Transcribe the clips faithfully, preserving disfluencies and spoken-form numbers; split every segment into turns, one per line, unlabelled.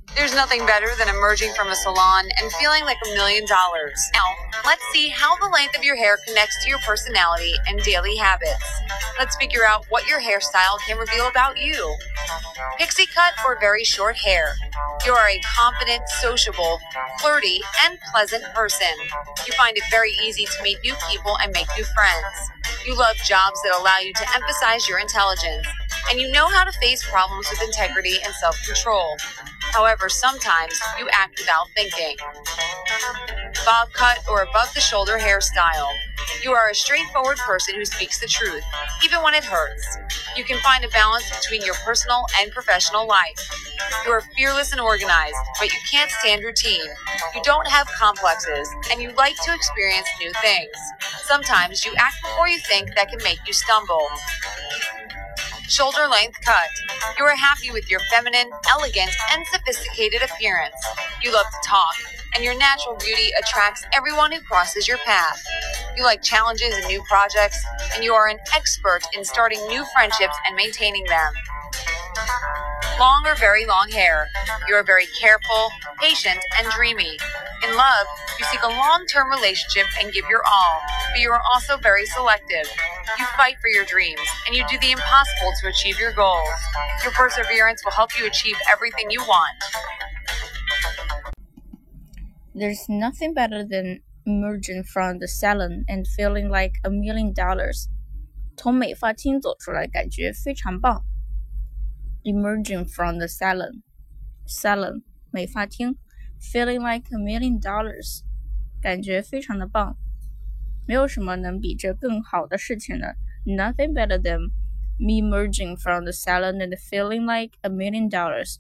There's nothing better than emerging from a salon and feeling like a million dollars. Now, let's see how the length of your hair connects to your personality and daily habits. Let's figure out what your hairstyle can reveal about you. Pixie cut or very short hair. You are a confident, sociable, flirty, and pleasant person. You find it very easy to meet new people and make new friends. You love jobs that allow you to emphasize your intelligence, and you know how to face problems with integrity and self-control. However, sometimes you act without thinking. Bob cut or above-the-shoulder hairstyle. You are a straightforward person who speaks the truth, even when it hurts. You can find a balance between your personal and professional life. You are fearless and organized, but you can't stand routine. You don't have complexes, and you like to experience new things. Sometimes you act before you think that can make you stumble. Shoulder length cut. You are happy with your feminine, elegant, and sophisticated appearance. You love to talk, and your natural beauty attracts everyone who crosses your path. You like challenges and new projects, and you are an expert in starting new friendships and maintaining them. Long or very long hair. You are very careful, patient, and dreamy. In love, you seek a long-term relationship and give your all, but you are also very selective. You fight for your dreams, and you do the impossible to achieve your goals. Your perseverance will help you achieve everything you want.
There's nothing better than emerging from the salon and feeling like a million dollars. 从美发厅走出来，感觉非常棒。Emerging from the salon, salon 美发厅 feeling like a million dollars 感觉非常的棒，没有什么能比这更好的事情了。Nothing better than me emerging from the salon and feeling like a million dollars.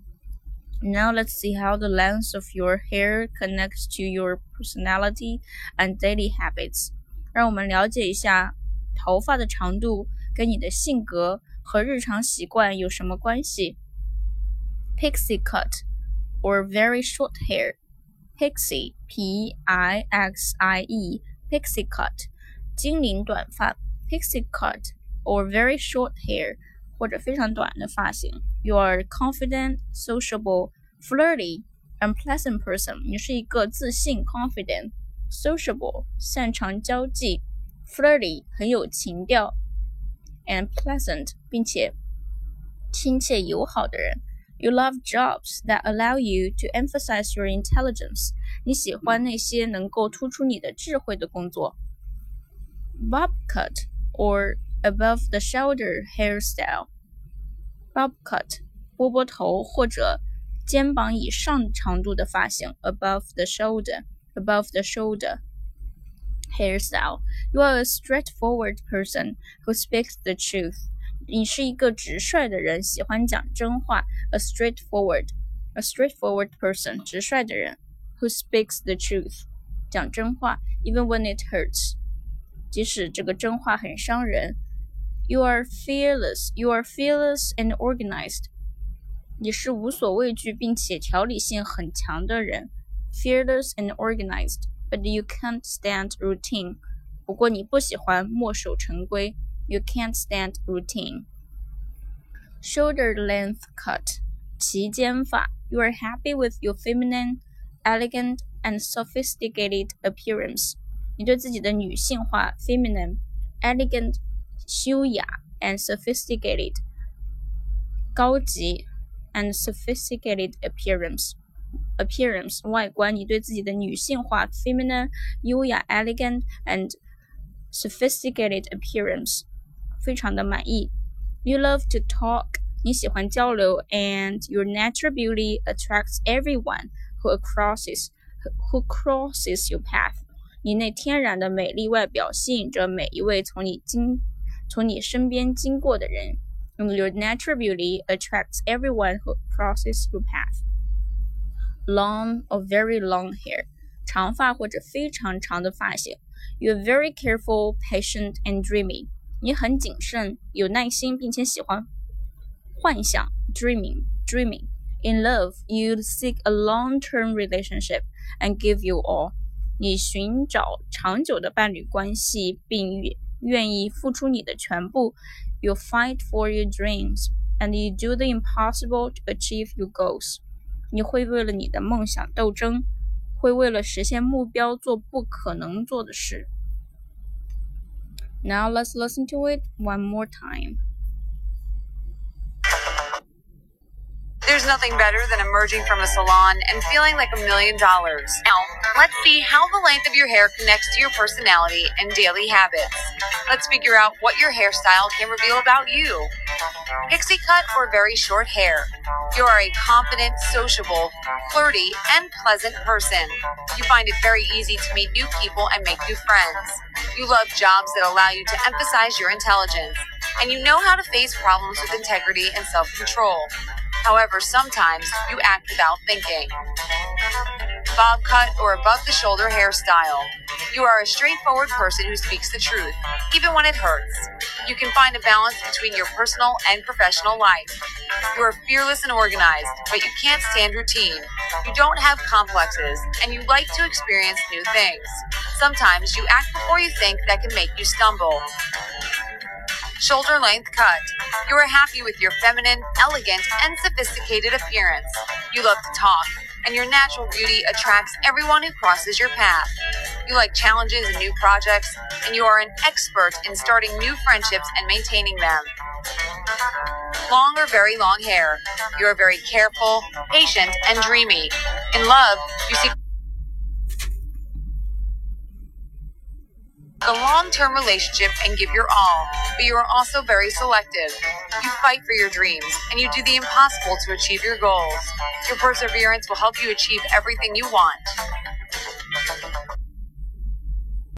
Now let's see how the length of your hair connects to your personality and daily habits. 让我们了解一下头发的长度跟你的性格和日常习惯有什么关系 ？Pixie cut or very short hair. Pixie, P I X I E, pixie cut, 精灵短发 Pixie cut or very short hair, 或者非常短的发型。You are a confident, sociable, flirty, and pleasant person. 你是一个自信 confident, sociable, 擅长交际 flirty, 很有情调and pleasant 并且亲切友好的人。You love jobs that allow you to emphasize your intelligence. 你喜欢那些能够突出你的智慧的工作。Bob cut or above the shoulder hairstyle. Bob cut 波波头或者肩膀以上长度的发型 above the shoulder above the shoulder hairstyle. You are a straightforward person who speaks the truth. 你是一个直率的人，喜欢讲真话。A straightforward, a straightforward person, 直率的人 who speaks the truth. 讲真话 even when it hurts. 即使这个真话很伤人。You are fearless, you are fearless and organized. 你是无所畏惧并且条理性很强的人。Fearless and organized.But you can't stand routine. 不过你不喜欢墨守成规。You can't stand routine. Shoulder length cut. 齐肩发 You are happy with your feminine, elegant, and sophisticated appearance. 你对自己的女性化 feminine, elegant, 修雅 and sophisticated, 高级 and sophisticated appearance.Appearance 外观，你对自己的女性化 feminine, 优雅 elegant and sophisticated appearance 非常的满意。You love to talk 你喜欢交流 and your natural beauty attracts everyone who crosses who crosses your path 你那天然的美丽外表吸引着每一位从你经从你身边经过的人。And your natural beauty attracts everyone who crosses your path.Long or very long hair 长发或者非常长的发型 You're very careful, patient, and dreamy 你很谨慎有耐心并且喜欢幻想 dreaming, dreaming In love, you seek a long-term relationship and give you all 你寻找长久的伴侣关系并愿意付出你的全部 You fight for your dreams and you do the impossible to achieve your goals 你会为了你的梦想斗争，会为了实现目标做不可能做的事。Now let's listen to it one more time.
There's nothing better than emerging from a salon and feeling like a million dollars. Now, let's see how the length of your hair connects to your personality and daily habits. Let's figure out what your hairstyle can reveal about you. Pixie cut or very short hair. You are a confident, sociable, flirty, and pleasant person. You find it very easy to meet new people and make new friends. You love jobs that allow you to emphasize your intelligence, and you know how to face problems with integrity and self-control. However, sometimes you act without thinking. Bob cut or above-the-shoulder hairstyle. You are a straightforward person who speaks the truth, even when it hurts. You can find a balance between your personal and professional life. You are fearless and organized, but you can't stand routine. You don't have complexes, and you like to experience new things. Sometimes you act before you think that can make you stumble. Shoulder length cut. You are happy with your feminine, elegant, and sophisticated appearance. You love to talk, and your natural beauty attracts everyone who crosses your path. You like challenges and new projects, and you are an expert in starting new friendships and maintaining them. Long or very long hair. You are very careful, patient, and dreamy. In love, you seek a long-term relationship and give your all, but you are also very selective. You fight for your dreams, and you do the impossible to achieve your goals. Your perseverance will help you achieve everything you want.